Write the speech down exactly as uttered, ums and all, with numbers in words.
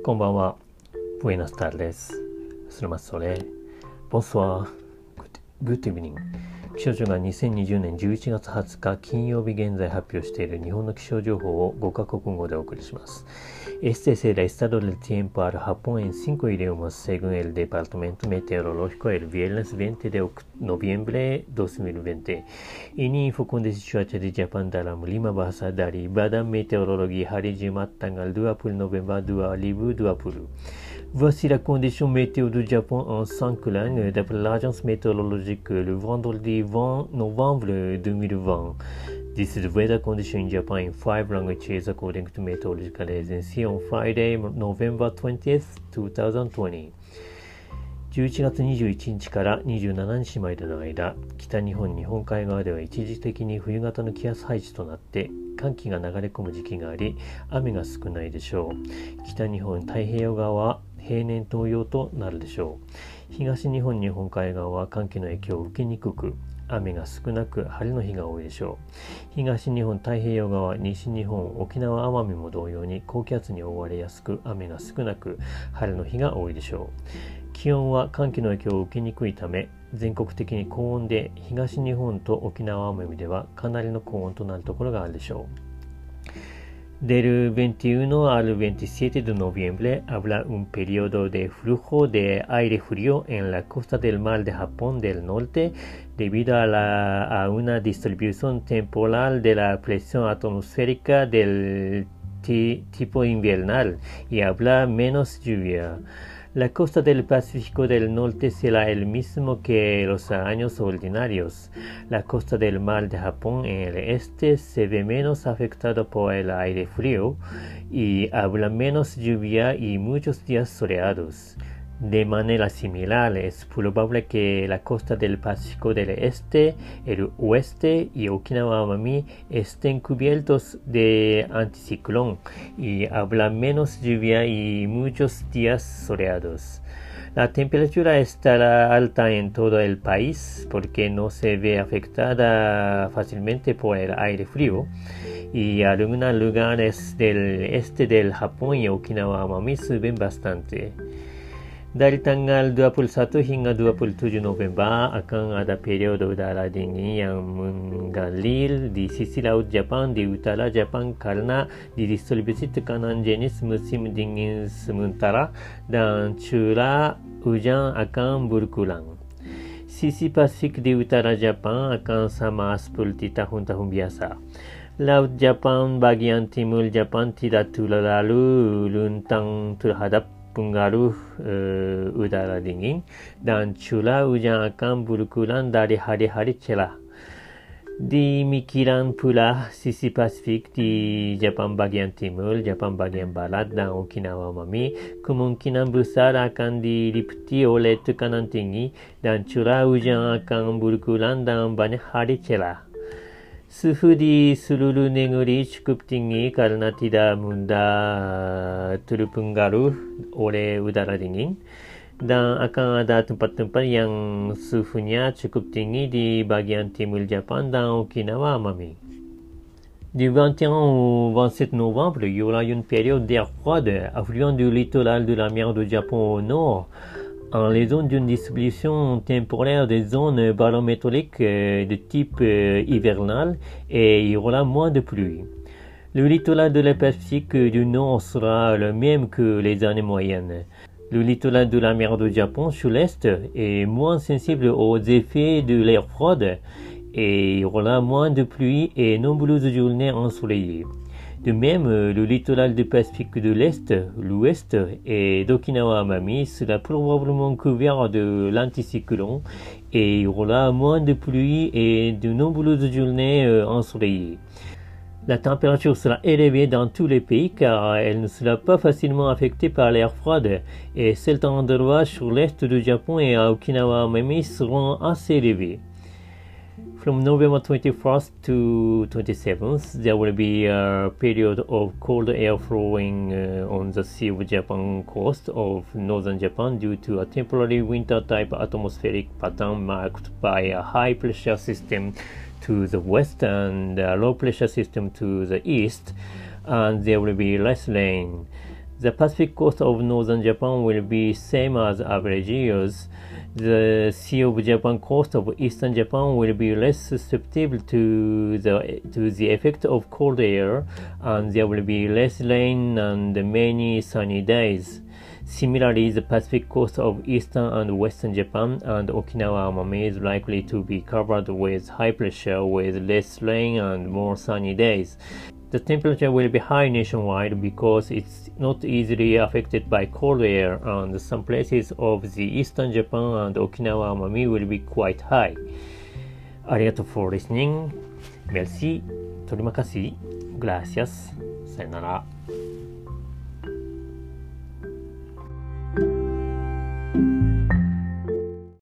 こんばんは。Buenas tardes. Selamat sore. Bonsoir. Good evening. 気象庁がにせんにじゅうねんじゅういちがつはつか金曜日現在発表している日本の気象情報をごカ国語でお送りします。Este es el estado del tiempo al Japón en cinco idiomas según el Departamento Meteorológico el viernes veinte de noviembre dos mil veinte. Ini info kondisi cuaca di Jepang dalam lima bahasa dari Badan Meteorologi hari Jumat tanggal dua puluh November dua ribu dua puluh. Voici la condition météo du Japon en cinq langues d'après l'agence météorologique le vendredi vingt novembre deux mille vingt. This is the weather condition in Japan in five languages according to Meteorological Agency on Friday, November twentieth, twenty twenty. じゅういちがつにじゅういちにちからにじゅうしちにちまでの間、北日本日本海側では一時的に冬型の気圧配置となって寒気が流れ込む時期があり、雨が少ないでしょう。北日本太平洋側は平年同様となるでしょう。東日本日本海側は寒気の影響を受けにくく、雨が少なく晴れの日が多いでしょう。東日本太平洋側、西日本、沖縄奄美も同様に高気圧に覆われやすく、雨が少なく晴れの日が多いでしょう。気温は寒気の影響を受けにくいため、全国的に高温で、東日本と沖縄奄美ではかなりの高温となるところがあるでしょう。Del veintiuno al veintisiete de noviembre habrá un periodo de flujo de aire frío en la costa del mar de Japón del Norte debido a, la, a una distribución temporal de la presión atmosférica del t- tipo invernal y habrá menos lluvia. La costa del Pacífico del Norte será el mismo que los años ordinarios. La costa del mar de Japón en el este se ve menos afectada por el aire frío y habrá menos lluvia y muchos días soleados. De manera similar, es probable que la costa del Pacífico del Este, el Oeste y Okinawa Amami estén cubiertos de anticiclón y habrá menos lluvia y muchos días soleados. La temperatura estará alta en todo el país porque no se ve afectada fácilmente por el aire frío y algunos lugares del este del Japón y Okinawa Amami suben bastante. Dari tanggal dua puluh satu hingga dua puluh tujuh November akan ada periode udara dingin yang mengalir di sisi laut Jepang di utara Jepang karena didistribusi tekanan jenis musim dingin sementara dan curah hujan akan berkurang. Sisi Pasifik di utara Jepang akan sama seperti tahun-tahun biasa. Laut Jepang bagian timur Jepang tidak terlalu rentan terhadap pengaruh uh, udara dingin dan curah hujan akan berkurang dari hari-hari cerah. Demikian pula sisi Pasifik di Jepang bagian timur, Jepang bagian barat dan Okinawa Amami kemungkinan besar akan diliputi oleh tekanan tinggi dan curah hujan akan berkurang dan banyak hari cerah. Suhu di seluruh negeri cukup tinggi karena tidak mudah terpengaruh oleh udara dingin dan akan ada tempat-tempat yang suhunya cukup tinggi di bagian timur Jepang dan Okinawa Amami. Du vingt et un au vingt-sept novembre, il y aura une période d'air froide affluant du littoral de la mer du Japon au nord en raison d'une distribution temporaire des zones barométriques de type hivernal et il y aura moins de pluie. Le littoral de la Pacifique du Nord sera le même que les années moyennes. Le littoral de la mer du Japon sur l'est est moins sensible aux effets de l'air froid et il y aura moins de pluie et nombreuses journées ensoleillées. De même, le littoral du Pacifique de l'Est, l'Ouest et d'Okinawa Amami sera probablement couvert de l'anticyclone et il y aura moins de pluie et de nombreuses journées ensoleillées. La température sera élevée dans tous les pays car elle ne sera pas facilement affectée par l'air froid et certains endroits sur l'est du Japon et à Okinawa Amami seront assez élevés. From November twenty-first to twenty-seventh, there will be a period of cold air flowing uh, on the Sea of Japan coast of northern Japan due to a temporary winter-type atmospheric pattern marked by a high-pressure system to the west and a low-pressure system to the east, and there will be less rain. The Pacific coast of northern Japan will be same as average years. The Sea of Japan coast of eastern Japan will be less susceptible to the to the effect of cold air, and there will be less rain and many sunny days. Similarly, the Pacific coast of eastern and western Japan and Okinawa Amami is likely to be covered with high pressure with less rain and more sunny days. The temperature will be high nationwide because it's not easily affected by cold air, and some places of the eastern Japan and Okinawa Amami will be quite high. ありがとう for listening. Merci. Terima kasih. Gracias. さよなら。